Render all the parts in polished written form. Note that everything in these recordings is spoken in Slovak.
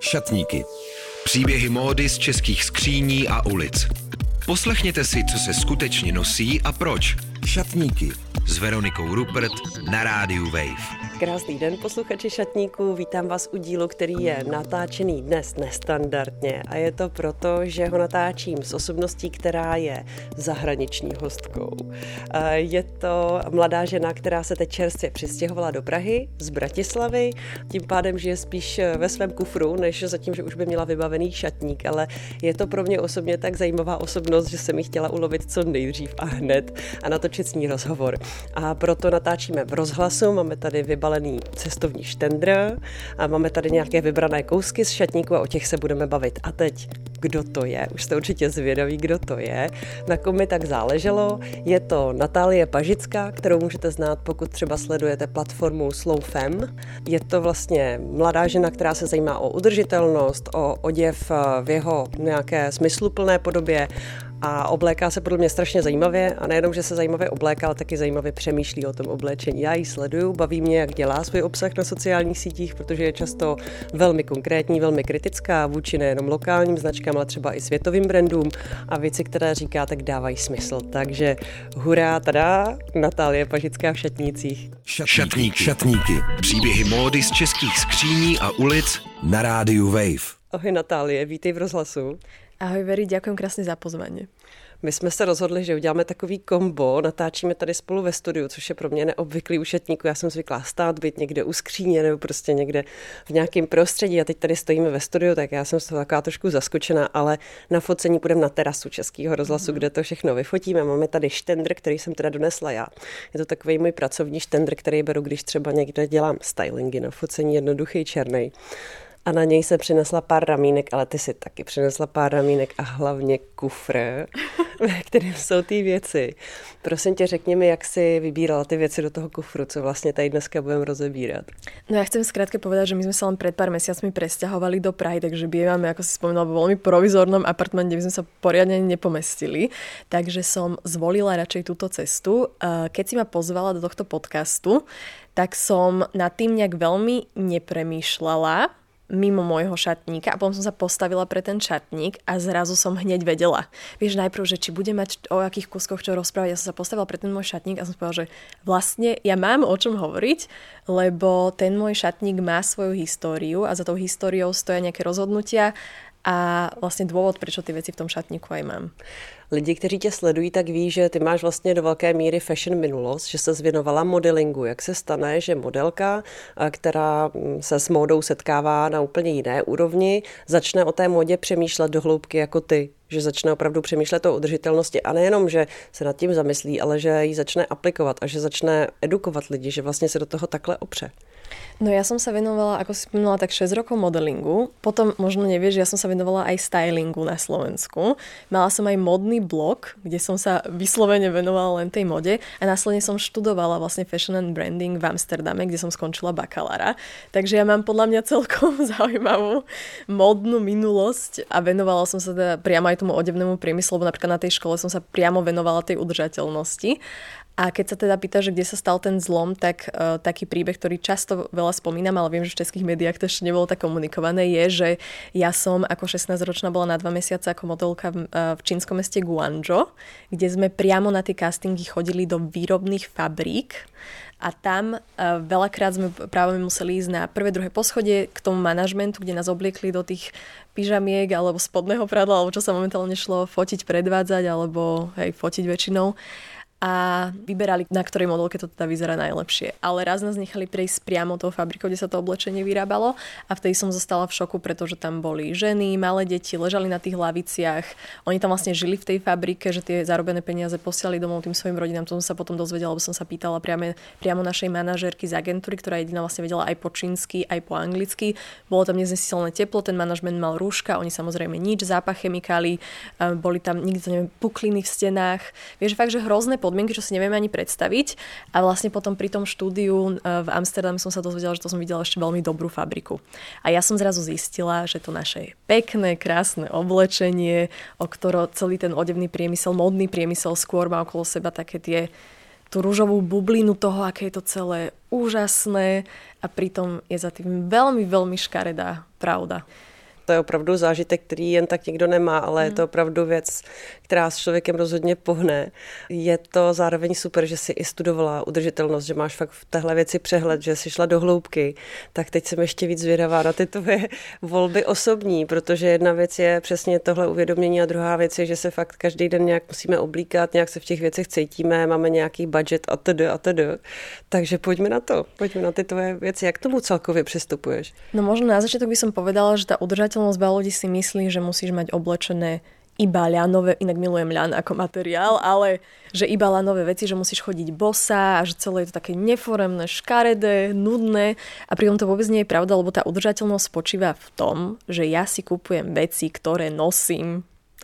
Šatníky. Příběhy módy z českých skříní a ulic. Poslechněte si, co se skutečně nosí a proč. Šatníky s Veronikou Rupert na rádiu Wave. Krásný den, posluchači Šatníků, vítám vás u dílu, který je natáčený dnes nestandardně a je to proto, že ho natáčím s osobností, která je zahraniční hostkou. Je to mladá žena, která se teď čerstvě přistěhovala do Prahy z Bratislavy, tím pádem žije spíš ve svém kufru, než zatím, že už by měla vybavený šatník, ale je to pro mě osobně tak zajímavá osobnost, že jsem ji chtěla ulovit co nejdřív a hned a natočit s ní rozhovor. A proto natáčíme v rozhlasu, máme tady vybalený cestovní štendr a máme tady nějaké vybrané kousky z šatníku a o těch se budeme bavit. A teď, kdo to je? Už jste určitě zvědaví, kdo to je. Na kom mi tak záleželo. Je to Natálie Pažická, kterou můžete znát, pokud třeba sledujete platformu SlowFem. Je to vlastně mladá žena, která se zajímá o udržitelnost, o oděv v jeho nějaké smysluplné podobě a obléká se podle mě strašně zajímavě a nejenom, že se zajímavě obléká, ale taky zajímavě přemýšlí o tom oblečení. Já ji sleduju, baví mě, jak dělá svůj obsah na sociálních sítích, protože je často velmi konkrétní, velmi kritická vůči nejenom lokálním značkám, ale třeba i světovým brandům a věci, které říká, tak dávají smysl. Takže hurá, tada, Natálie Pažická v šatnících. Šatníky. Příběhy módy z českých skříní a ulic na rádiu Wave. Ahoj Natálie, vítej v rozhlasu. Ahoj Veri, ďakujem krásne za pozvanie. My jsme se rozhodli, že uděláme takový kombo, natáčíme tady spolu ve studiu, což je pro mě neobvyklý u šatníku. Já jsem zvyklá stát, být někde u skříně nebo prostě někde v nějakém prostředí a teď tady stojíme ve studiu, tak já jsem z toho taková trošku zaskočená, ale na focení půjdeme na terasu Českého rozhlasu, kde to všechno vyfotíme. Máme tady štendr, který jsem teda donesla já. Je to takový můj pracovní štendr, který beru, když třeba někde dělám stylingy na focení, jednoduchý černý. A na něj se přinesla pár ramínek, ale ty si taky přinesla pár ramínek a hlavně kufr, ve kterém jsou ty věci. Prosím tě, řekni mi, jak si vybírala ty věci do toho kufru, co vlastně tady dneska budeme rozebírat. No ja chcem skrátke povedať, že my sme sa len pred pár mesiacmi presťahovali do Prahy, takže bývame, ako si spomínala, vo veľmi provizornom apartmente, kde by sme sa poriadne nepomestili. Takže som zvolila radšej túto cestu. Keď si ma pozvala do tohto podcastu, tak som nad tým nejak veľmi nepremýšľala mimo môjho šatníka a potom som sa postavila pre ten šatník a zrazu som hneď vedela. Vieš, najprv, že či bude mať o akých kuskoch čo rozprávať. Ja som sa postavila pre ten môj šatník a som povedala, že vlastne ja mám o čom hovoriť, lebo ten môj šatník má svoju históriu a za tou históriou stoja nejaké rozhodnutia a vlastne dôvod, prečo ty veci v tom šatníku aj mám. Lidi, kteří tě sledují, tak ví, že ty máš vlastně do velké míry fashion minulost, že se zvěnovala modelingu. Jak se stane, že modelka, která se s módou setkává na úplně jiné úrovni, začne o té módě přemýšlet do hloubky jako ty? Že začne opravdu přemýšlet o udržitelnosti a nejenom, že se nad tím zamyslí, ale že ji začne aplikovat a že začne edukovat lidi, že vlastně se do toho takhle opře. No ja som sa venovala, ako si spomínala, tak 6 rokov modelingu. Potom, možno nevieš, ja som sa venovala aj stylingu na Slovensku. Mala som aj modný blog, kde som sa vyslovene venovala len tej mode a následne som študovala vlastne fashion and branding v Amsterdame, kde som skončila bakalára. Takže ja mám podľa mňa celkom zaujímavú modnú minulosť a venovala som sa teda priamo aj tomu odevnému priemyslu, lebo napríklad na tej škole som sa priamo venovala tej udržateľnosti. A keď sa teda pýtaš, že kde sa stal ten zlom, tak taký príbeh, ktorý často veľa spomínam, ale viem, že v českých médiách to ešte nebolo tak komunikované, je, že ja som ako 16-ročná bola na 2 mesiace ako modelka v čínskom meste Guangzhou, kde sme priamo na tie castingy chodili do výrobných fabrík a tam veľakrát sme práve museli ísť na prvé, druhé poschodie k tomu manažmentu, kde nás obliekli do tých pyžamiek alebo spodného prádla, alebo čo sa momentálne šlo fotiť, predvádzať alebo fotiť väčšinou. A vyberali, na ktorej modelke to teda vyzerá najlepšie. Ale raz nás nechali prejsť priamo tou fabrikou, kde sa to oblečenie vyrábalo a vtedy som zostala v šoku, pretože tam boli ženy, malé deti, ležali na tých laviciach. Oni tam vlastne žili v tej fabrike, že tie zarobené peniaze posielali domov tým svojim rodinám. To som sa potom dozvedela, lebo som sa pýtala priamo našej manažérky z agentúry, ktorá jediná vlastne vedela aj po čínsky, aj po anglicky. Bolo tam neznesiteľné teplo, ten manažment mal rúška, oni samozrejme nič, zápach chemikálií, boli tam nikto pukliny v stenách. Vieš, fakt, že hrozné podmienky, čo si nevieme ani predstaviť. A vlastne potom pri tom štúdiu v Amsterdame som sa dozvedela, že to som videla ešte veľmi dobrú fabriku. A ja som zrazu zistila, že to naše pekné, krásne oblečenie, o ktoré celý ten odevný priemysel, módny priemysel skôr má okolo seba také tú ružovú bublinu toho, aké je to celé úžasné a pritom je za tým veľmi, veľmi škaredá pravda. To je opravdu zážitek, který jen tak nikdo nemá, ale je to opravdu věc, která s člověkem rozhodně pohne. Je to zároveň super, že jsi i studovala udržitelnost, že máš fakt v téhle věci přehled, že jsi šla do hloubky. Tak teď jsem ještě víc zvědavá na ty tvoje volby osobní, protože jedna věc je přesně tohle uvědomění a druhá věc je, že se fakt každý den nějak musíme oblíkat, nějak se v těch věcech cítíme, máme nějaký budget a td. Takže pojďme na to. Pojďme na ty tvoje věci. Jak k tomu celkově přistupuješ? No možno na začiatok by som povedala, že tá udržateľnosť, veľa ľudí si myslí, že musíš mať oblečené iba ľanové, inak milujem ľan ako materiál, ale že iba ľanové veci, že musíš chodiť bosa a že celé je to také neforemné, škaredé, nudné a pritom to vôbec nie je pravda, lebo tá udržateľnosť spočíva v tom, že ja si kupujem veci, ktoré nosím.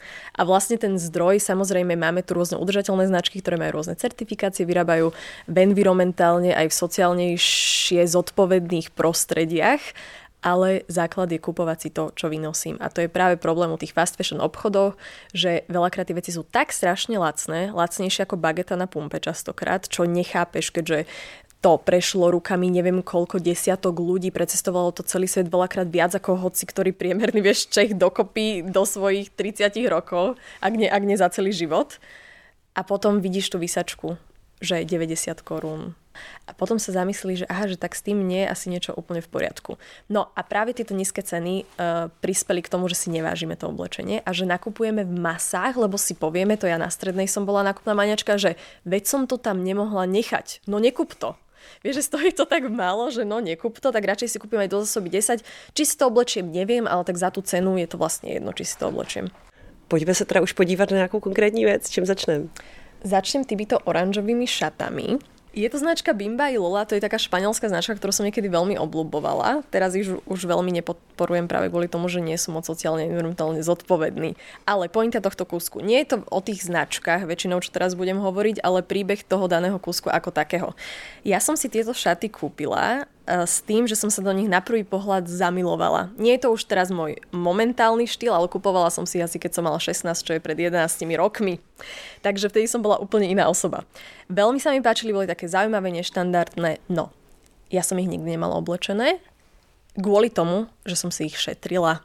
A vlastne ten zdroj, samozrejme máme tu rôzne udržateľné značky, ktoré majú rôzne certifikácie, vyrábajú v environmentálne aj v sociálnejšie zodpovedných prostrediach, ale základ je kupovať si to, čo vynosím. A to je práve problém u tých fast fashion obchodov, že veľakrát tie veci sú tak strašne lacné, lacnejšie ako bageta na pumpe častokrát, čo nechápeš, keďže to prešlo rukami neviem koľko desiatok ľudí, precestovalo to celý svet veľakrát viac ako hoci, ktorý priemerný vieš Čech dokopy do svojich 30 rokov, ak nie za celý život. A potom vidíš tú výsačku, že je 90 korún. A potom sa zamyslí, že aha, že tak s tým nie je asi niečo úplne v poriadku. No a práve tieto nízke ceny prispeli k tomu, že si nevážime to oblečenie a že nakupujeme v masách, lebo si povieme, to ja na strednej som bola nákupná maniačka, že veď som to tam nemohla nechať. No nekup to. Vieš, že stojí to tak málo, že no nekup to, tak radšej si kúpim aj do zásoby 10. Či si to oblečiem, neviem, ale tak za tú cenu je to vlastne jedno, či si to oblečiem. Pojďme se teda už podívat na nějakou konkrétní věc. Čím začneme? Začnem týmito oranžovými šatami. Je to značka Bimba i Lola, to je taká španielská značka, ktorú som niekedy veľmi obľúbovala. Teraz ich už veľmi nepodporujem práve kvôli tomu, že nie som moc sociálne environmentálne zodpovedný. Ale pointa tohto kúsku. Nie je to o tých značkách, väčšinou, čo teraz budem hovoriť, ale príbeh toho daného kúsku ako takého. Ja som si tieto šaty kúpila s tým, že som sa do nich na prvý pohľad zamilovala. Nie je to už teraz môj momentálny štýl, ale kupovala som si asi keď som mala 16, čo je pred 11 rokmi. Takže vtedy som bola úplne iná osoba. Veľmi sa mi páčili, boli také zaujímavé, neštandardné. No, ja som ich nikdy nemala oblečené kvôli tomu, že som si ich šetrila.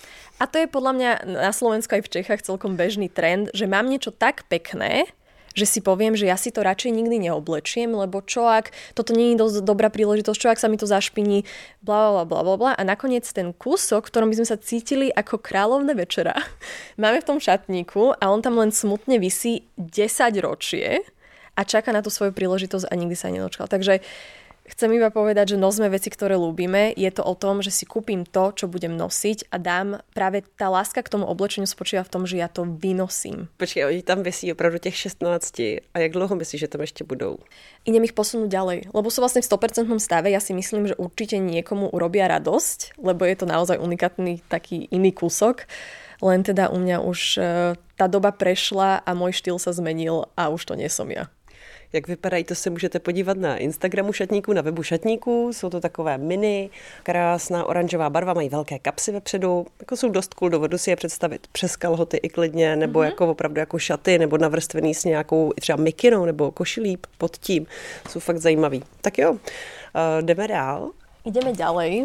A to je podľa mňa na Slovensku aj v Čechách celkom bežný trend, že mám niečo tak pekné, že si poviem, že ja si to radšej nikdy neoblečiem, lebo čo ak toto nie je dosť dobrá príležitosť, čo ak sa mi to zašpiní, blablabla. A nakoniec ten kúsok, v ktorom by sme sa cítili ako kráľovné večera, máme v tom šatníku a on tam len smutne visí 10 ročie a čaká na tú svoju príležitosť a nikdy sa nedočkal. Takže chcem iba povedať, že nosme veci, ktoré ľúbime. Je to o tom, že si kúpim to, čo budem nosiť a dám. Práve tá láska k tomu oblečeniu spočíva v tom, že ja to vynosím. Počkej, oni tam visí opravdu těch 16. A jak dlouho myslíš, že tam ešte budou? Idem ich posunúť ďalej, lebo sú vlastne v 100% stave. Ja si myslím, že určite niekomu urobia radosť, lebo je to naozaj unikátny taký iný kúsok. Len teda u mňa už tá doba prešla a môj štýl sa zmenil a už to nie som ja. Jak vypadají, to se můžete podívat na Instagramu šatníků, na webu šatníků. Jsou to takové mini, krásná oranžová barva, mají velké kapsy vepředu. Jako jsou dost cool, dovedu si je představit přes kalhoty i klidně, nebo jako opravdu jako šaty, nebo navrstvený s nějakou třeba mikinou nebo košilí pod tím. Jsou fakt zajímavý. Tak jo, jdeme dál. Ideme ďalej.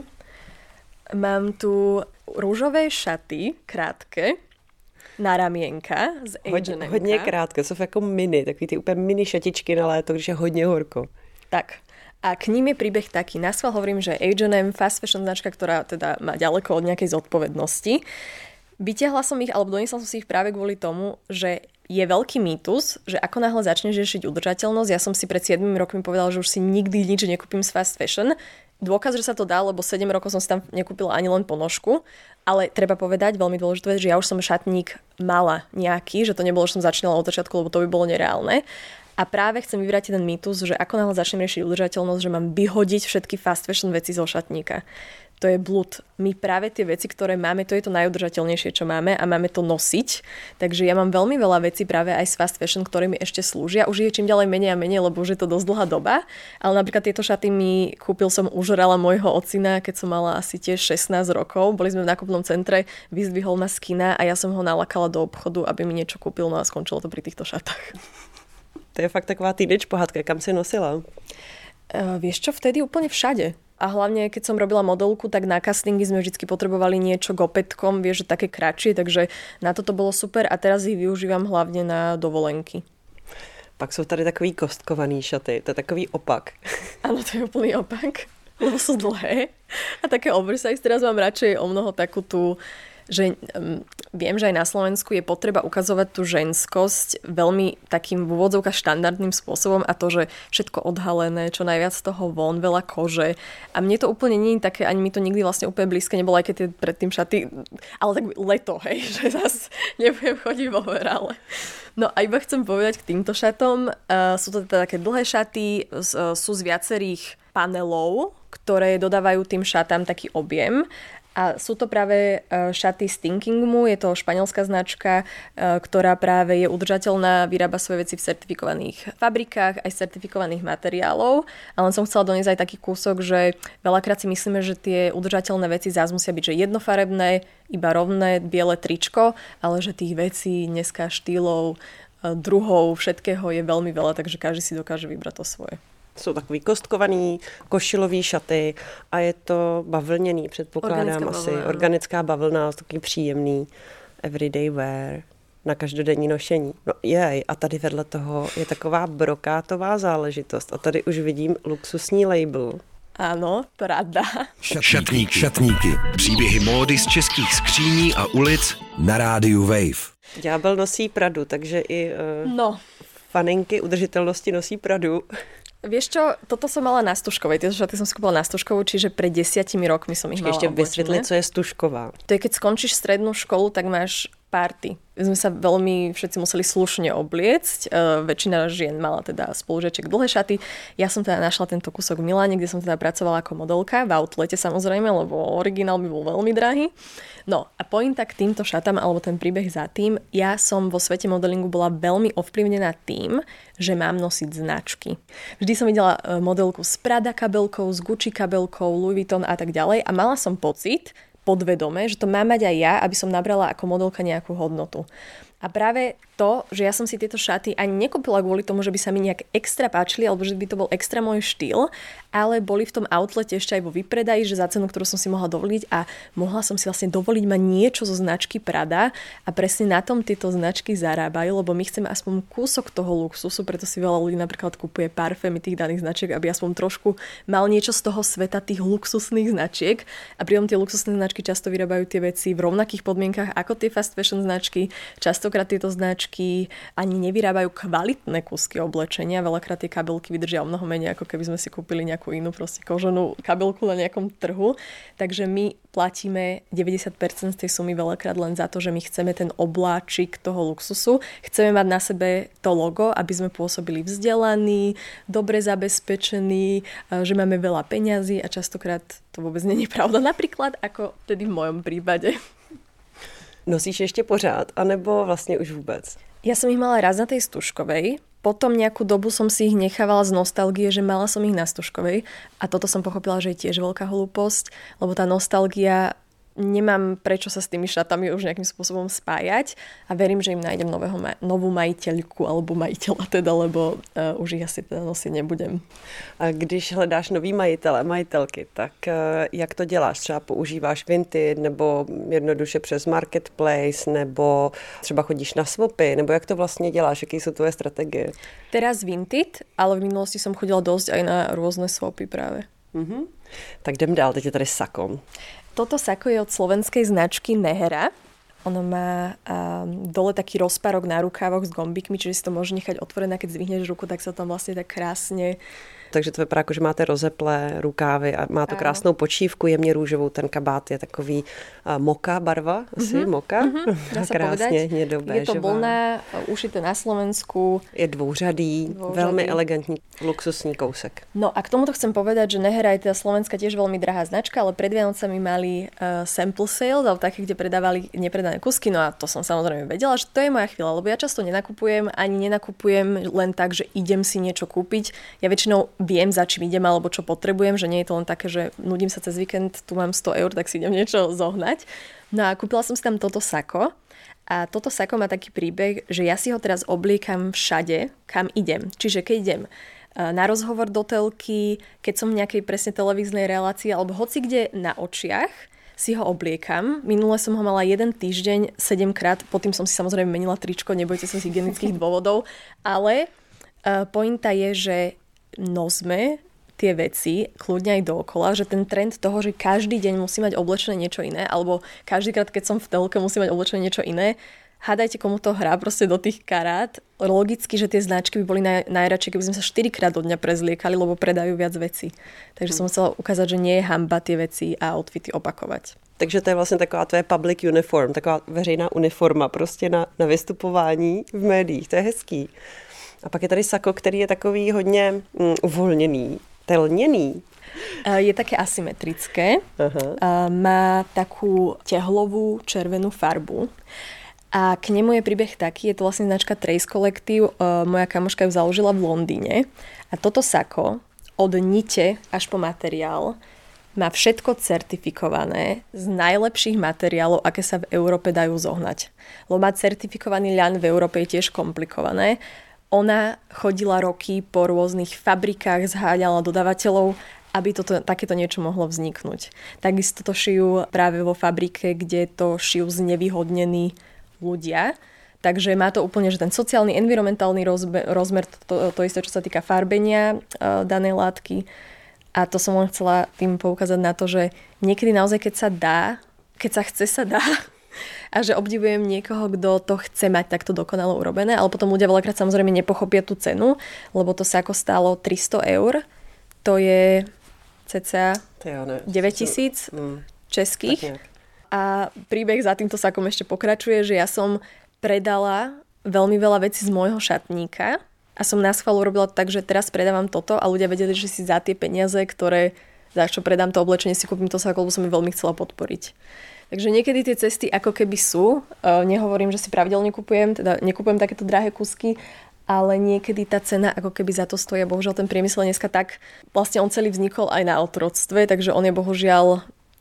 Mám tu rúžové šaty, krátke, na ramienka z H&M. Hodně krátké, jsou jako mini, takový ty úplně mini šatičky na léto, když je hodně horko. Tak. A k ním je príbeh taký. Naschvál hovorím, že H&M, fast fashion značka, ktorá teda má ďaleko od nejakej zodpovednosti. Vytiahla som ich, alebo doniesla som si ich práve kvôli tomu, že je veľký mýtus, že ako náhle začneš riešiť udržateľnosť, ja som si pred 7 rokmi povedala, že už si nikdy nič nekúpim z fast fashion. Dôkaz, že sa to dá, lebo 7 rokov som si tam nekúpila ani len ponožku, ale treba povedať, veľmi dôležité, že ja už som šatník mala nejaký, že to nebolo, že som začínala od začiatku, lebo to by bolo nereálne. A práve chcem vyvrátiť ten mýtus, že ako náhle začnem riešiť udržateľnosť, že mám vyhodiť všetky fast fashion veci zo šatníka. To je blud. My práve tie veci, ktoré máme, to je to najudržateľnejšie, čo máme a máme to nosiť. Takže ja mám veľmi veľa vecí práve aj z fast fashion, ktoré mi ešte slúžia. Už je čím ďalej menej a menej, lebo už je to dosť dlhá doba. Ale napríklad tieto šaty mi kúpil som užrala môjho ocina, keď som mala asi tiež 16 rokov. Boli sme v nákupnom centre, vyzdvihol ma z kina a ja som ho nalakala do obchodu, aby mi niečo kúpil, no a skončilo to pri týchto šatách. To je fakt taková teenage pohádka, kam si nosila? Vieš čo, vtedy úplne všade. A hlavne, keď som robila modelku, tak na castingy sme vždy potrebovali niečo k opätkom, vieš, že také kratšie, takže na toto bolo super a teraz ich využívam hlavne na dovolenky. Pak jsou tady takový kostkovaný šaty, to je takový opak. Áno, to je úplný opak, lebo sú dlhé a také oversize. Teraz mám radšej o mnoho takú tú, že viem, že aj na Slovensku je potreba ukazovať tú ženskosť veľmi takým v úvodzovkách štandardným spôsobom a to, že všetko odhalené, čo najviac z toho von, veľa kože. A mne to úplne nie je také, ani mi to nikdy vlastne úplne blízke nebolo, aj keď tie predtým šaty, ale tak leto, hej, že zase nebudem chodiť vo overale. No a iba chcem povedať k týmto šatom, sú to teda také dlhé šaty, sú z viacerých panelov, ktoré dodávajú tým šatám taký objem. A sú to práve šaty Stinkingmu, je to španielská značka, ktorá práve je udržateľná, vyrába svoje veci v certifikovaných fabrikách, aj z certifikovaných materiálov. Ale som chcela doniesť aj taký kúsok, že veľakrát si myslíme, že tie udržateľné veci zás musia byť že jednofarebné, iba rovné, biele tričko, ale že tých vecí dneska štýlov, druhov, všetkého je veľmi veľa, takže každý si dokáže vybrať to svoje. Jsou takový kostkovaný, košilový šaty a je to bavlněný, předpokládám asi. Organická bavlna, takový příjemný everyday wear na každodenní nošení. No jej, a tady vedle toho je taková brokátová záležitost a tady už vidím luxusní label. Áno, Prada. Šatníky. Příběhy módy z českých skříní a ulic na rádiu Wave. Ďábel nosí Pradu, takže i faninky udržitelnosti nosí Pradu. Vieš čo, toto som mala na Stužkovej. Tieto šaty som si kúpila na Stužkovú, čiže pred 10 rokmi som ich mala oblečené. Ešte vysvetli, co je Stužková. To je, keď skončíš strednú školu, tak máš party. My sme sa veľmi všetci museli slušne obliecť. Väčšina žien mala teda spolužiačiek dlhé šaty. Ja som teda našla tento kúsok v Miláne, kde som teda pracovala ako modelka, v outlete samozrejme, lebo originál by bol veľmi drahý. No a pointa k týmto šatám, alebo ten príbeh za tým, ja som vo svete modelingu bola veľmi ovplyvnená tým, že mám nosiť značky. Vždy som videla modelku s Prada kabelkou, s Gucci kabelkou, Louis Vuitton a tak ďalej a mala som pocit, podvedome, že to mám mať aj ja, aby som nabrala ako modelka nejakú hodnotu. A práve to, že ja som si tieto šaty ani nekúpila kvôli tomu, že by sa mi nejak extra páčili, alebo že by to bol extra môj štýl, ale boli v tom outlete ešte aj vo výpredaji, že za cenu, ktorú som si mohla dovoliť a mohla som si vlastne dovoliť mať niečo zo značky Prada a presne na tom tieto značky zarábajú, lebo my chceme aspoň kúsok toho luxusu, preto si veľa ľudí napríklad kupuje parfémy tých daných značiek, aby aspoň trošku mal niečo z toho sveta tých luxusných značiek a pritom tie luxusné značky často vyrábajú tie veci v rovnakých podmienkach ako tie fast fashion značky. Častokrát tieto značky ani nevyrábajú kvalitné kúsky oblečenia, veľakrát tie kabelky vydržia o mnoho menej, ako keby sme si kúpili nejakú inú proste koženú kabelku na nejakom trhu. Takže my platíme 90% z tej sumy veľakrát len za to, že my chceme ten obláčik toho luxusu. Chceme mať na sebe to logo, aby sme pôsobili vzdelaní, dobre zabezpečení, že máme veľa peňazí a častokrát to vôbec nie je pravda. Napríklad ako tedy v mojom prípade. Nosíš ještě pořád, anebo vlastně už vůbec? Ja som ich mala raz na tej Stužkovej, potom nejakú dobu som si ich nechávala z nostalgie, že mala som ich na Stužkovej a toto som pochopila, že je tiež veľká hlúposť, lebo tá nostalgia, nemám prečo sa s tými šatami už nejakým spôsobom spájať a verím, že im nájdem novú majiteľku alebo majiteľa teda, lebo už ich asi teda nosiť nebudem. A když hledáš nový majitele, majitelky, tak jak to děláš? Třeba používáš Vinted nebo jednoduše přes Marketplace nebo třeba chodíš na swapy, nebo jak to vlastně děláš? Jaké jsou tvoje strategie? Teraz Vinted, ale v minulosti som chodila dosť aj na rôzne swapy práve. Mhm. Tak jdem dál, teď je tady Sako. Toto sako je od slovenskej značky Nehera. Ono má dole taký rozparok na rukávoch s gombíkmi, čiže si to môže nechať otvorené, keď zdvihneš ruku, tak sa tam vlastne tak krásne... Takže to vypadá, jako, že máte rozeplé rukávy a má to krásnou počívku, jemně růžovou, ten kabát je takový moka barva, asi moka. Dá sa krásně povedať. hnědobé. Je to vlna, ušité na Slovensku. Je dvouřadý, velmi elegantní, luxusní kousek. No a k tomuto chcem povedať, že Nehera je teda Slovenska tiež veľmi drahá značka, ale pred Vianocami mali sample sale, alebo také, kde predávali nepredané kusky, no a to som samozrejme vedela, že to je moja chvíľa, lebo ja často nenakupujem, ani nenakupujem len tak, že idem si niečo kúpiť. Ja väčšinou viem, za čím idem alebo čo potrebujem, že nie je to len také, že nudím sa cez víkend, tu mám 100 eur, tak si idem niečo zohnať. No a kúpila som si tam toto sako a toto sako má taký príbeh, že ja si ho teraz obliekam všade, kam idem. Čiže keď idem na rozhovor do telky, keď som v nejakej presne televíznej relácii alebo hoci kde na očiach, si ho obliekam. Minule som ho mala 1 týždeň 7-krát, potom som si samozrejme menila tričko, nebojte sa z hygienických dôvodov, ale pointa je, že nosme tie veci kľudne aj dookola, že ten trend toho, že každý deň musí mať oblečené niečo iné, alebo každýkrát, keď som v telke, musí mať oblečené niečo iné, hádajte, komu to hrá proste do tých karát. Logicky, že tie značky by boli najradšie, keby sme sa 4-krát do dňa prezliekali, lebo predajú viac vecí. Takže som chcela ukázať, že nie je hanba tie veci a outfity opakovať. Takže to je vlastně taková tvoje public uniform, taková veřejná uniforma prostě na vystupování v médiích. To je hezký. A pak je tady sako, který je takový hodně uvolněný, telněný. Je také asymetrické. Má takú tehlovú červenú farbu. A k nemu je príbeh taký, je to vlastne značka Trace Collective, moja kamoška ju založila v Londýne. A toto sako od nite až po materiál má všetko certifikované z najlepších materiálov, aké sa v Európe dajú zohnať. Lebo mať certifikovaný ľan v Európe je tiež komplikované. Ona chodila roky po rôznych fabrikách, zháňala dodávateľov, aby takéto niečo mohlo vzniknúť. Takisto to šijú práve vo fabrike, kde to šijú znevýhodnení ľudia. Takže má to úplne, že ten sociálny, environmentálny rozmer, to isté, čo sa týka farbenia danej látky. A to som len chcela tým poukázať na to, že niekedy naozaj, keď sa chce, sa dá. A že obdivujem niekoho, kto to chce mať takto dokonalo urobené, ale potom ľudia veľakrát samozrejme nepochopia tú cenu, lebo to sako stálo 300 €. To je cca 9,000 českých. A príbeh za týmto sakom ešte pokračuje, že ja som predala veľmi veľa vecí z môjho šatníka a som na schvál urobila tak, že teraz predávam toto a ľudia vedeli, že si za tie peniaze, za čo predám to oblečenie, si kúpim to sako, lebo som ich veľmi chcela podporiť. Takže niekedy tie cesty ako keby sú. Nehovorím, že si pravidelne nekupujem takéto drahé kusky, ale niekedy tá cena ako keby za to stojí. Bohužiaľ ten priemysel dneska tak, vlastne on celý vznikol aj na otroctve, takže on je bohužiaľ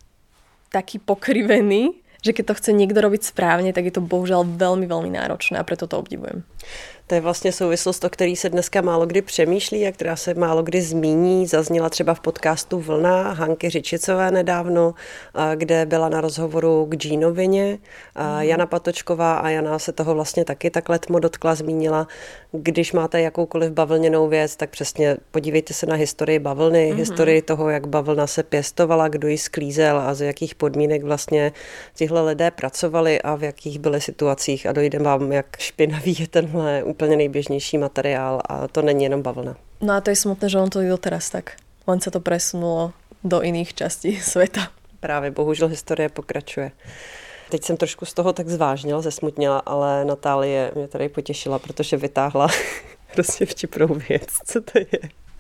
taký pokrivený, že keď to chce niekto robiť správne, tak je to bohužiaľ veľmi, veľmi náročné a preto to obdivujem. To je vlastně souvislost, o který se dneska málo kdy přemýšlí a která se málo kdy zmíní. Zazněla třeba v podcastu Vlna Hanky Řičicové nedávno, kde byla na rozhovoru k džínovině. Jana Patočková a Jana se toho vlastně taky tak letmo dotkla, zmínila. Když máte jakoukoliv bavlněnou věc, tak přesně podívejte se na historii bavlny, historii toho, jak bavlna se pěstovala, kdo ji sklízel a z jakých podmínek vlastně tihle lidé pracovali a v jakých byly situacích a dojde vám, jak špinavý je tenhle úplně nejběžnější materiál a to není jenom bavlna. No a to je smutné, že on to je doteraz tak. Len sa to presunulo do iných častí sveta. Právě, bohužel historie pokračuje. Teď jsem trošku z toho tak zvážnila, zesmutnila, ale Natálie mě tady potěšila, protože vytáhla prostě vtipnou věc. Co to je?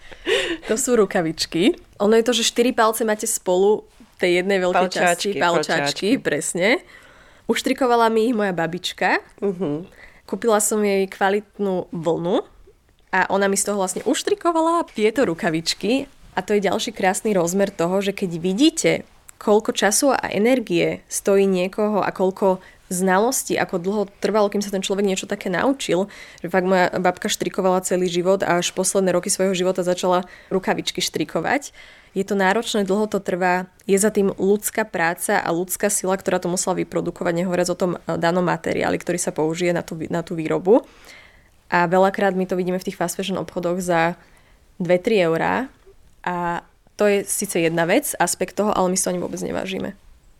To sú rukavičky. Ono je to, že 4 palce máte spolu tej jednej veľkej časti. Palčáčky, presne. Uštrikovala mi ich moja babička. Kúpila som jej kvalitnú vlnu a ona mi z toho vlastne uštrikovala tieto rukavičky a to je ďalší krásny rozmer toho, že keď vidíte, koľko času a energie stojí niekoho a koľko znalostí, ako dlho trvalo, kým sa ten človek niečo také naučil, že fakt moja babka štrikovala celý život a až posledné roky svojho života začala rukavičky štrikovať. Je to náročné, dlho to trvá, je za tým ľudská práca a ľudská sila, ktorá to musela vyprodukovať, nehovoriac o tom danom materiáli, ktorý sa použije na tú výrobu. A veľakrát my to vidíme v tých fast fashion obchodoch za 2-3 eurá a to je síce jedna vec, aspekt toho, ale my si to ani vôbec nevážime.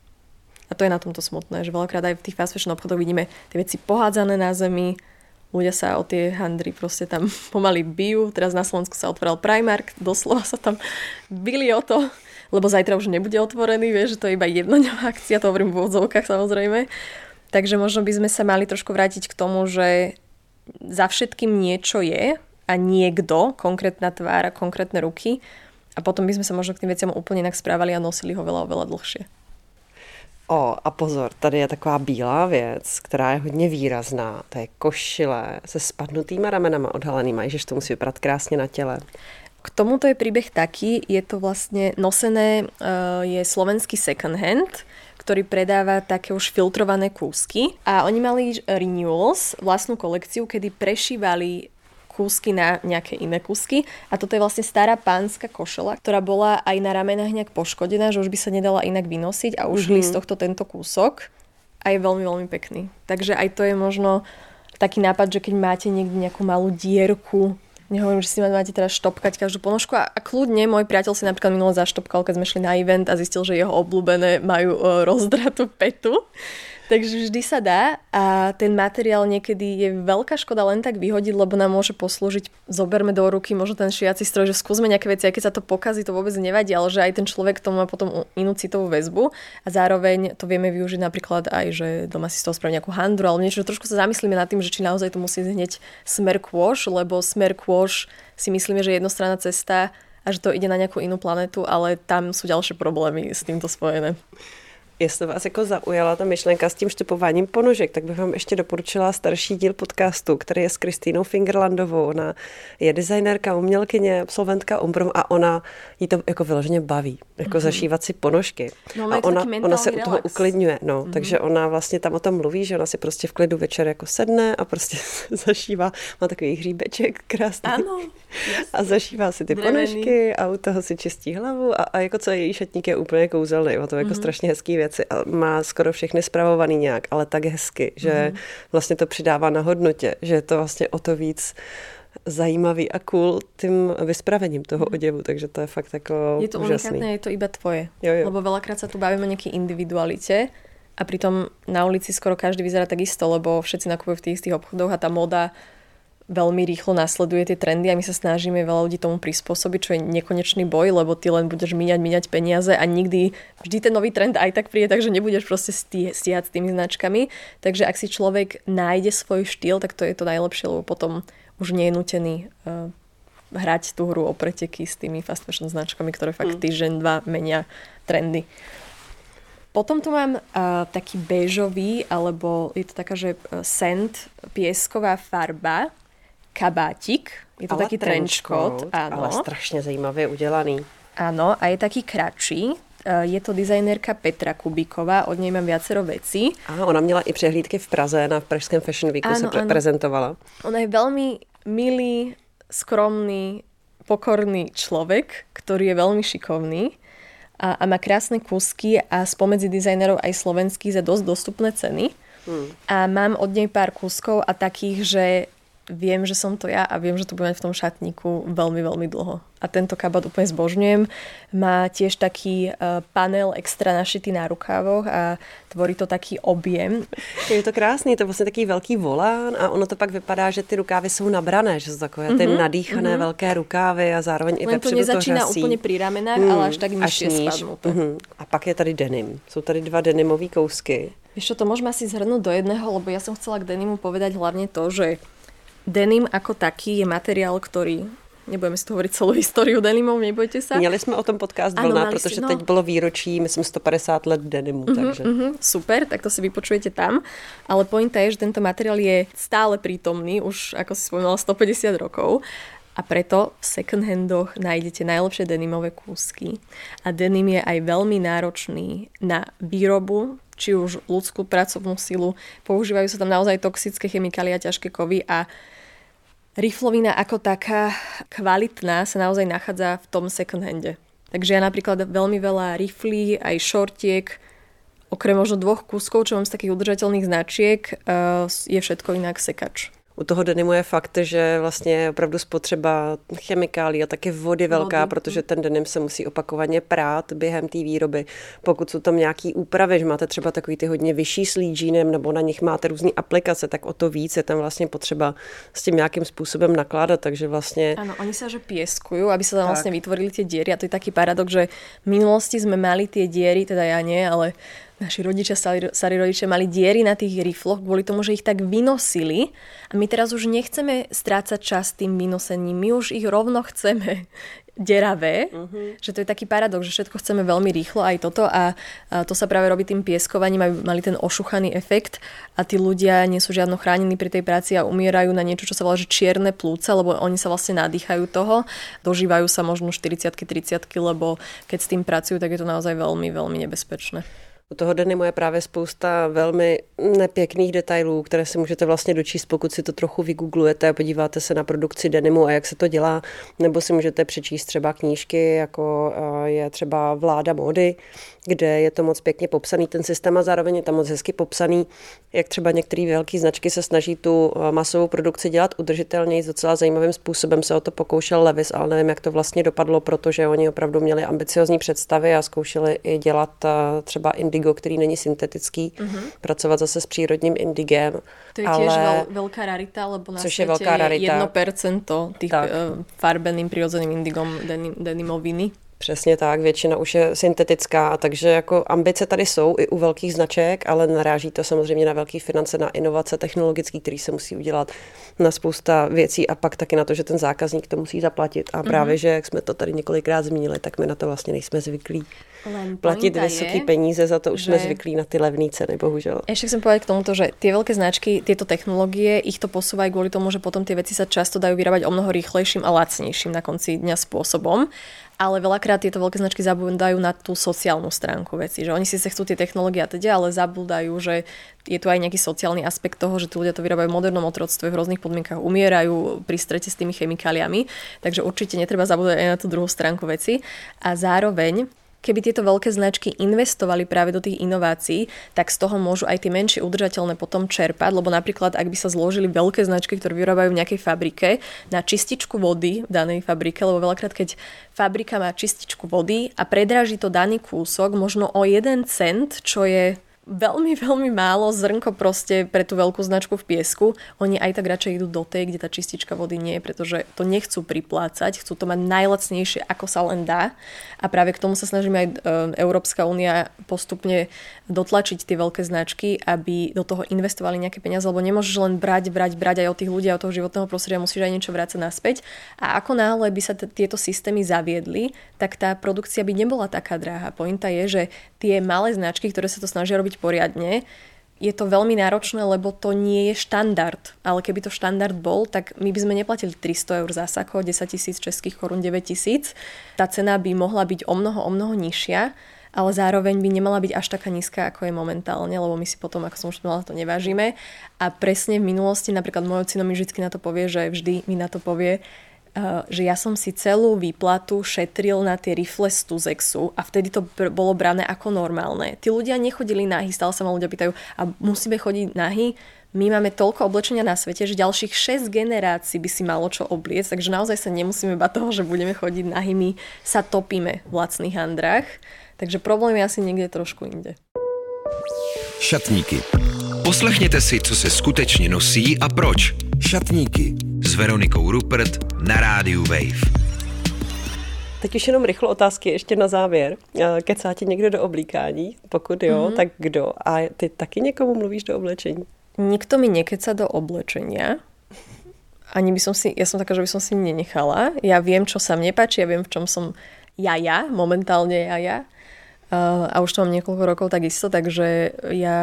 A to je na tomto smutné, že veľakrát aj v tých fast fashion obchodoch vidíme tie veci pohádzané na zemi, ľudia sa o tie handry proste tam pomaly bijú. Teraz na Slovensku sa otvoril Primark, doslova sa tam bili o to, lebo zajtra už nebude otvorený, vieš, že to je iba jednodňová akcia, to hovorím v úvodzovkách samozrejme. Takže možno by sme sa mali trošku vrátiť k tomu, že za všetkým niečo je a niekto, konkrétna tvár a konkrétne ruky a potom by sme sa možno k tým veciam úplne inak správali a nosili ho veľa, oveľa dlhšie. A pozor, tady je taková bílá věc, která je hodně výrazná. To je košile se spadnutýma ramenama odhalenýma. Ježiš, to musí vypadat krásně na těle. K tomuto je príbeh taký, je to vlastne nosené, je slovenský second hand, ktorý predáva také už filtrované kúsky. A oni mali Renewals, vlastnú kolekciu, kedy prešívali kúsky na nejaké iné kúsky. A toto je vlastne stará pánska košela, ktorá bola aj na ramenách nejak poškodená, že už by sa nedala inak vynosiť a ušli z tohto tento kúsok a je veľmi, veľmi pekný. Takže aj to je možno taký nápad, že keď máte niekde nejakú malú dierku, nehovorím, že si máte teraz štopkať každú ponožku a kľudne môj priateľ si napríklad minule zaštopkal, keď sme šli na event a zistil, že jeho obľúbené majú rozdratú petu. Takže vždy sa dá a ten materiál niekedy je veľká škoda len tak vyhodiť, lebo nám môže poslúžiť, zoberme do ruky možno ten šiaci stroj, že skúsme nejaké veci, aj keď sa to pokazí, to vôbec nevadí, ale že aj ten človek tomu má potom inú citovú väzbu a zároveň to vieme využiť napríklad aj, že doma si z toho spraví nejakú handru alebo niečo, že trošku sa zamyslíme nad tým, že či naozaj to musí hneď smer kôž, lebo smer kôž si myslíme, že je jednostranná cesta a že to ide na nejakú inú planetu, ale tam sú ďalšie problémy s týmto spojené. Jestli vás jako zaujala ta myšlenka s tím štupováním ponožek, tak bych vám ještě doporučila starší díl podcastu, který je s Kristýnou Fingerlandovou. Ona je designérka, umělkyně, absolventka Umbrum a ona jí to jako vyloženě baví, jako zašívat si ponožky. No, a ona se u toho uklidňuje, takže ona vlastně tam o tom mluví, že ona si prostě v klidu večer jako sedne a prostě zašívá, má takový hříbeček krásný. Ano, a zašívá si ty ponožky a u toho si čistí hlavu a jako celý její šatník je úplně kouzelný, má to jako strašně hezký věci a má skoro všechny spravovaný nějak, ale tak hezky, že vlastně to přidává na hodnotě, že je to vlastně o to víc zajímavý a cool tím vyspravením toho oděvu, takže to je fakt jako je to úžasný. unikátne, je to iba tvoje. Jo. Lebo veľakrát sa tu bavíme o nejakej individualite a pritom na ulici skoro každý vyzerá tak isto, lebo všetci nakupujú v tých istých obchodoch a tá moda veľmi rýchlo nasleduje tie trendy a my sa snažíme veľa ľudí tomu prispôsobiť, čo je nekonečný boj, lebo ty len budeš míňať peniaze a vždy ten nový trend aj tak príde, takže nebudeš proste stíhať s tými značkami. Takže ak si človek nájde svoj štýl, tak to je to najlepšie, lebo potom už nie je nutený hrať tú hru o preteky s tými fast fashion značkami, ktoré fakt týždeň, dva menia trendy. Potom tu mám taký béžový, alebo je to taká, že sand, piesková farba, kabátik. Je to ale taký trenchcoat. Ale strašně zajímavě udělaný. Áno, a je taký kratší. Je to designérka Petra Kubíková, od nej mám viacero vecí. A ona měla i přehlídky v Praze, na pražském Fashion Weeku se prezentovala. Ona je veľmi milý, skromný, pokorný človek, ktorý je veľmi šikovný a má krásne kúsky a spomedzi dizajnerov aj slovenských za dosť dostupné ceny. A mám od nej pár kúskov a takých, že viem, že som to ja a viem, že to budem mať v tom šatníku veľmi, veľmi dlho. A tento kabát úplne zbožňujem. Má tiež taký panel extra našitý na rukávoch a tvorí to taký objem. Je to krásný, to je vlastně taký velký volán a ono to pak vypadá, že ty rukávy jsou nabrané, že jsou takové ty nadýchané velké rukávy a zároveň i vepředu to řasí. Len to nezačíná úplně pri ramenách, ale až tak nižšie spadnuté. A pak je tady denim. Jsou tady 2 denimové kousky. Vieš čo, to môžeme asi zhrnúť do jedného, lebo ja som chcela k denimu povedať hlavne to, že denim ako taký je materiál, ktorý... Nebudeme si to hovoriť celou históriu denimov, nebojte sa. Měli jsme o tom podcast Vlna, protože teď bylo výročí, myslím, 150 let denimu. Takže. Super, tak to si vypočujete tam. Ale pointa je, že tento materiál je stále prítomný, už ako si spomínala 150 rokov. A preto v second handoch nájdete najlepšie denimové kúsky. A denim je aj veľmi náročný na výrobu, či už ľudskú pracovnú silu. Používajú sa tam naozaj toxické chemikálie a ťažké kovy a riflovina ako taká kvalitná sa naozaj nachádza v tom second hande. Takže ja napríklad veľmi veľa riflí, aj šortiek, okrem možno 2 kúskov, čo mám z takých udržateľných značiek, je všetko inak sekač. U toho denimu je fakt, že vlastně je opravdu spotřeba chemikálí a taky vody velká, protože ten denim se musí opakovaně prát během té výroby. Pokud jsou tam nějaký úpravy, že máte třeba takový ty hodně vyšší s lídžínem nebo na nich máte různé aplikace, tak o to víc je tam vlastně potřeba s tím nějakým způsobem nakládat, takže vlastně... Áno, oni sa že pieskujú, aby sa tam vlastne vytvorili tie diery a to je taký paradox, že v minulosti sme mali tie diery, teda ja nie, ale naši rodičia, starí rodičia mali diery na tých rifloch kvôli tomu, že ich tak vynosili a my teraz už nechceme strácať čas tým vynosením, my už ich rovno chceme deravé, že to je taký paradox, že všetko chceme veľmi rýchlo aj toto a to sa práve robí tým pieskovaním, aby mali ten ošuchaný efekt a tí ľudia nie sú žiadno chránení pri tej práci a umierajú na niečo, čo sa volá že čierne plúca, lebo oni sa vlastne nadýchajú toho, dožívajú sa možno 40-30, lebo keď s tým pracujú, tak je to naozaj veľmi, veľmi nebezpečné. U toho denimu je právě spousta velmi nepěkných detailů, které si můžete vlastně dočíst, pokud si to trochu vygooglujete a podíváte se na produkci denimu a jak se to dělá, nebo si můžete přečíst třeba knížky, jako je třeba Vláda módy, kde je to moc pěkně popsaný ten systém a zároveň je tam moc hezky popsaný, jak třeba některé velké značky se snaží tu masovou produkci dělat udržitelněji. S docela zajímavým způsobem se o to pokoušel Levi's, ale nevím, jak to vlastně dopadlo, protože oni opravdu měli ambiciozní představy a zkoušeli i dělat třeba indigo, který není syntetický, pracovat zase s přírodním indigem. To je tiež veľká rarita, lebo na svete je 1% tých farbeným prirodzeným indigom denimoviny. Přesně tak, většina už je syntetická, takže jako ambice tady jsou i u velkých značek, ale naráží to samozřejmě na velké finance, na inovace technologické, které se musí udělat, na spousta věcí a pak taky na to, že ten zákazník to musí zaplatit. A právě, že jak jsme to tady několikrát zmínili, tak my na to vlastně nejsme zvyklí. Platit vysoké peníze, za to už jsme zvyklí na ty levné ceny, bohužel. Ešte chcem povedať k tomuto, že tie veľké značky, tieto technológie, ich to posúvajú kvôli tomu, že potom tie veci sa často dajú vyrábať o mnoho rýchlejším a lacnejším na konci dňa spôsobom. Ale veľakrát tieto veľké značky zabúdajú na tú sociálnu stránku veci, že oni si chcú tie technológie a teda, ale zabúdajú, že je tu aj nejaký sociálny aspekt toho, že tí ľudia to vyrábajú v modernom otroctve, v rôznych podmienkach umierajú pri strete s tými chemikáliami, takže určite netreba zabúdať aj na tú druhú stránku veci. A zároveň keby tieto veľké značky investovali práve do tých inovácií, tak z toho môžu aj tie menšie udržateľné potom čerpať, lebo napríklad, ak by sa zložili veľké značky, ktoré vyrábajú v nejakej fabrike na čističku vody v danej fabrike, lebo veľakrát, keď fabrika má čističku vody a predráži to daný kúsok možno o 1 cent, čo je veľmi, veľmi málo zrnko proste pre tú veľkú značku v piesku. Oni aj tak radšej idú do tej, kde tá čistička vody nie je, pretože to nechcú priplácať, chcú to mať najlacnejšie, ako sa len dá. A práve k tomu sa snažíme aj Európska únia postupne dotlačiť tie veľké značky, aby do toho investovali nejaké peniaze, lebo nemôžeš len brať aj od tých ľudí a od toho životného prostredia, musíš aj niečo vrácať naspäť. A ako náhle by sa tieto systémy zaviedli, tak tá produkcia by nebola taká drahá. Pointa je, že tie malé značky, ktoré sa to snažia robiť poriadne, je to veľmi náročné, lebo to nie je štandard. Ale keby to štandard bol, tak my by sme neplatili 300 eur za sako, 10 000 českých korún, 9 000. Tá cena by mohla byť o mnoho nižšia, ale zároveň by nemala byť až taká nízka, ako je momentálne, lebo my si potom, ako som už povedala, to nevážime. A presne v minulosti, napríklad môj ocino mi vždy na to povie, že vždy mi na to povie, že ja som si celú výplatu šetril na tie rifle z Tuzexu a vtedy to bolo brané ako normálne. Tí ľudia nechodili nahy, stále sa ma ľudia pýtajú, a musíme chodiť nahy? My máme toľko oblečenia na svete, že ďalších 6 generácií by si malo čo obliecť, takže naozaj sa nemusíme bať toho, že budeme chodiť nahy, my sa topíme v lacných handrách, takže problém je asi niekde trošku inde. Šatníky. Poslechněte si, co se skutečně nosí a proč. Šatníky s Veronikou Rupert na rádiu Wave. Teď už jenom rychlo otázky ještě na závěr. Kecá ti někdo do oblíkání? Pokud jo, tak kdo? A ty taky někomu mluvíš do oblečení? Nikto mi nekeca do oblečenia. Ani by som si, ja som taká, že by som si nenechala. Ja viem, čo sa mne páči, ja viem, v čom som momentálne ja. A už to mám niekoľko rokov takisto, takže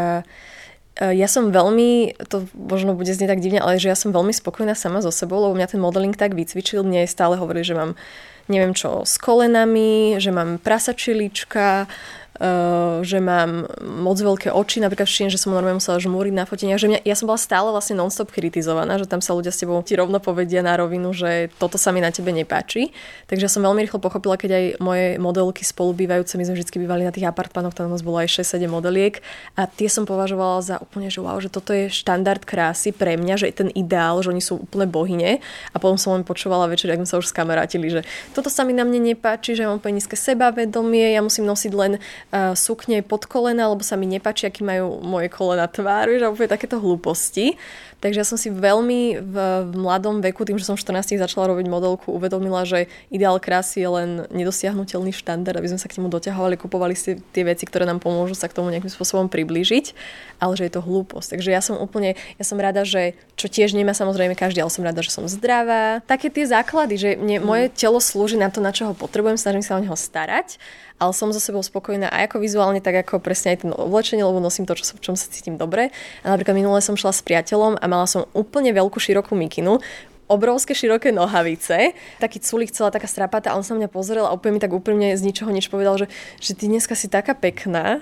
ja som veľmi, to možno bude znieť tak divne, ale že ja som veľmi spokojná sama so sebou, lebo mňa ten modeling tak vycvičil. Mne stále hovorili, že mám neviem čo s kolenami, že mám prasačilička, že mám moc veľké oči, napríklad všimne, že som normálne musela žmúriť na foteniach, že ja som bola stále vlastne non-stop kritizovaná, že tam sa ľudia s tebou ti rovno povedia na rovinu, že toto sa mi na tebe nepáči. Takže ja som veľmi rýchlo pochopila, keď aj moje modelky spolubývajúce, my sme vždy bývali na tých apartmanoch, tam nás bolo aj 6-7 modeliek a tie som považovala za úplne, že wow, že toto je štandard krásy pre mňa, že je ten ideál, že oni sú úplne bohyne a potom som len počúvala večer, ak sme sa už skamarátili, že toto sa mi na mne nepáči, že mám úplne nízke sebavedomie, ja musím nosiť len sukne pod kolena, lebo sa mi nepáči, aký majú moje kolena tvár, že úplne takéto hlúposti. Takže ja som si veľmi v mladom veku, tým, že som 14 začala robiť modelku, uvedomila, že ideál krásy je len nedosiahnutelný štandard, aby sme sa k nemu doťahovali, kupovali si tie veci, ktoré nám pomôžu sa k tomu nejakým spôsobom priblížiť, ale že je to hlúposť. Takže ja som rada, že čo tiež nemá samozrejme každý, ale som rada, že som zdravá. Také tie základy, že moje telo slúži na to, na čo ho potrebujem, snažím sa o neho starať, ale som so sebou spokojná aj ako vizuálne, tak ako presne aj ten oblečenie, lebo nosím to, v čom sa cítim dobre. A napríklad minule som šla s priateľom a mala som úplne veľkú širokú mikinu, obrovské široké nohavice, taký culík, celá taká strapatá, a on sa mňa pozrel a úplne mi tak úprimne z ničoho nič povedal, že ty dneska si taká pekná.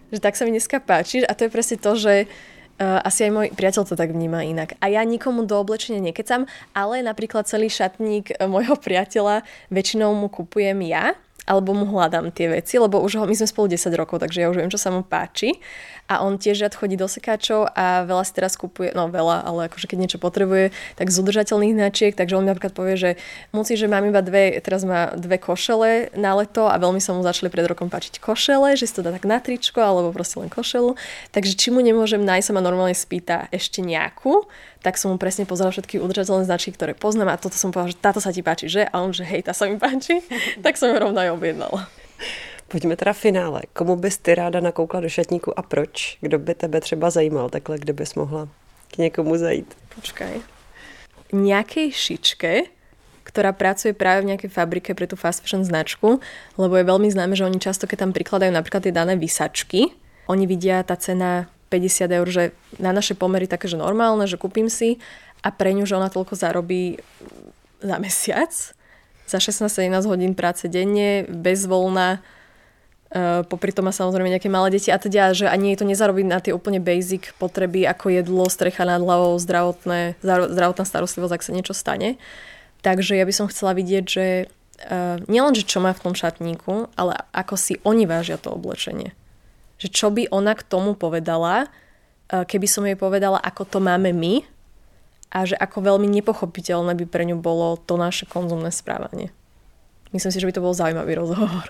že tak sa mi dneska páčiš a to je presne to, že asi aj môj priateľ to tak vníma inak. A ja nikomu do oblečenia nekecam, ale napríklad celý šatník môjho priateľa väčšinou mu kupujem ja, alebo mu hľadám tie veci, lebo už my sme spolu 10 rokov, takže ja už viem, čo sa mu páči. A on tiež rád chodí do sekáčov a veľa si teraz kupuje, no veľa, ale akože keď niečo potrebuje, tak z udržateľných značiek, takže on mi napríklad povie, že musí, že mám iba teraz má 2 košele na leto a veľmi sa mu začali pred rokom páčiť košele, že si to dá tak na tričko alebo proste len košelu. Takže či mu nemôžem nájsť, sa ma normálne spýta ešte nejakú, tak som mu presne pozerala všetky udržateľné značky, ktoré poznám a toto som povedala, že táto sa ti páči, že? A on, že hej, tá sa mi páči, tak som ju rovno aj objednala. Pojďme teda finále. Komu bys ty ráda nakoukla do šatníku a proč? Kdo by tebe třeba zajímal takhle, kde bys mohla k někomu zajít? Počkaj. Nejakej šičke, ktorá pracuje práve v nejakej fabrike pre tú fast fashion značku, lebo je veľmi známe, že oni často, keď tam prikladajú napríklad tie dané vysačky, oni vidia tá cena 50 eur, že na naše pomery také, že normálne, že kúpim si a pre ňu, že ona toľko zarobí za mesiac, za 16-17 hodín práce denne, bez voľna, popri tom má samozrejme nejaké malé deti a teda, že ani jej to nezarobí na tie úplne basic potreby ako jedlo, strecha nad hlavou, zdravotná starostlivosť, ak sa niečo stane. Takže ja by som chcela vidieť, že nielen, že čo má v tom šatníku, ale ako si oni vážia to oblečenie. Že čo by ona k tomu povedala, keby som jej povedala, ako to máme my a že ako veľmi nepochopiteľné by pre ňu bolo to naše konzumné správanie. Myslím si, že by to bol zaujímavý rozhovor.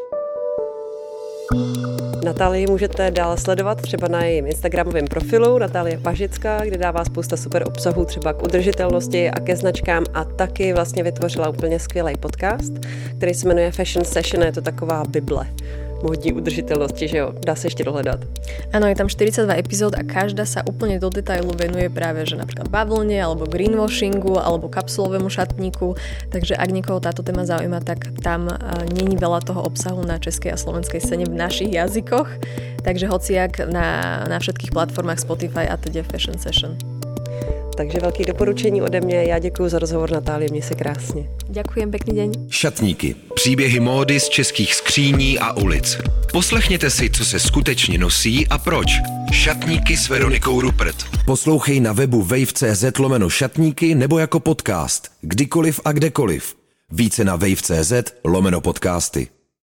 Natálii můžete dál sledovat třeba na jejím instagramovém profilu Natálie Pažická, kde dává spousta super obsahů třeba k udržitelnosti a ke značkám a taky vlastně vytvořila úplně skvělý podcast, který se jmenuje Fashion Session, je to taková bible módní udržitelnosti, že jo? Dá sa ešte dohľadať. Áno, je tam 42 epizód a každá sa úplne do detailu venuje práve, že napríklad bavlne, alebo greenwashingu, alebo kapsulovému šatníku. Takže ak niekoho táto téma zaujíma, tak tam není veľa toho obsahu na českej a slovenskej scéne v našich jazykoch. Takže hociak na všetkých platformách Spotify a teda Fashion Session. Takže velký doporučení ode mě. Já děkuji za rozhovor, Natálie, měj se krásně. Ďakujem, pekný deň. Šatníky. Příběhy módy z českých skříní a ulic. Poslechněte si, co se skutečně nosí a proč. Šatníky s Veronikou Rupert. Poslouchej na webu wave.cz/šatníky nebo jako podcast. Kdykoliv a kdekoliv. Více na wave.cz/podcasty.